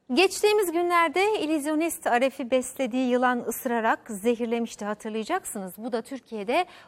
Geçtiğimiz günlerde illüzyonist Aref'i beslediği yılan ısırarak zehirlemişti, hatırlayacaksınız. Bu da Türkiye'de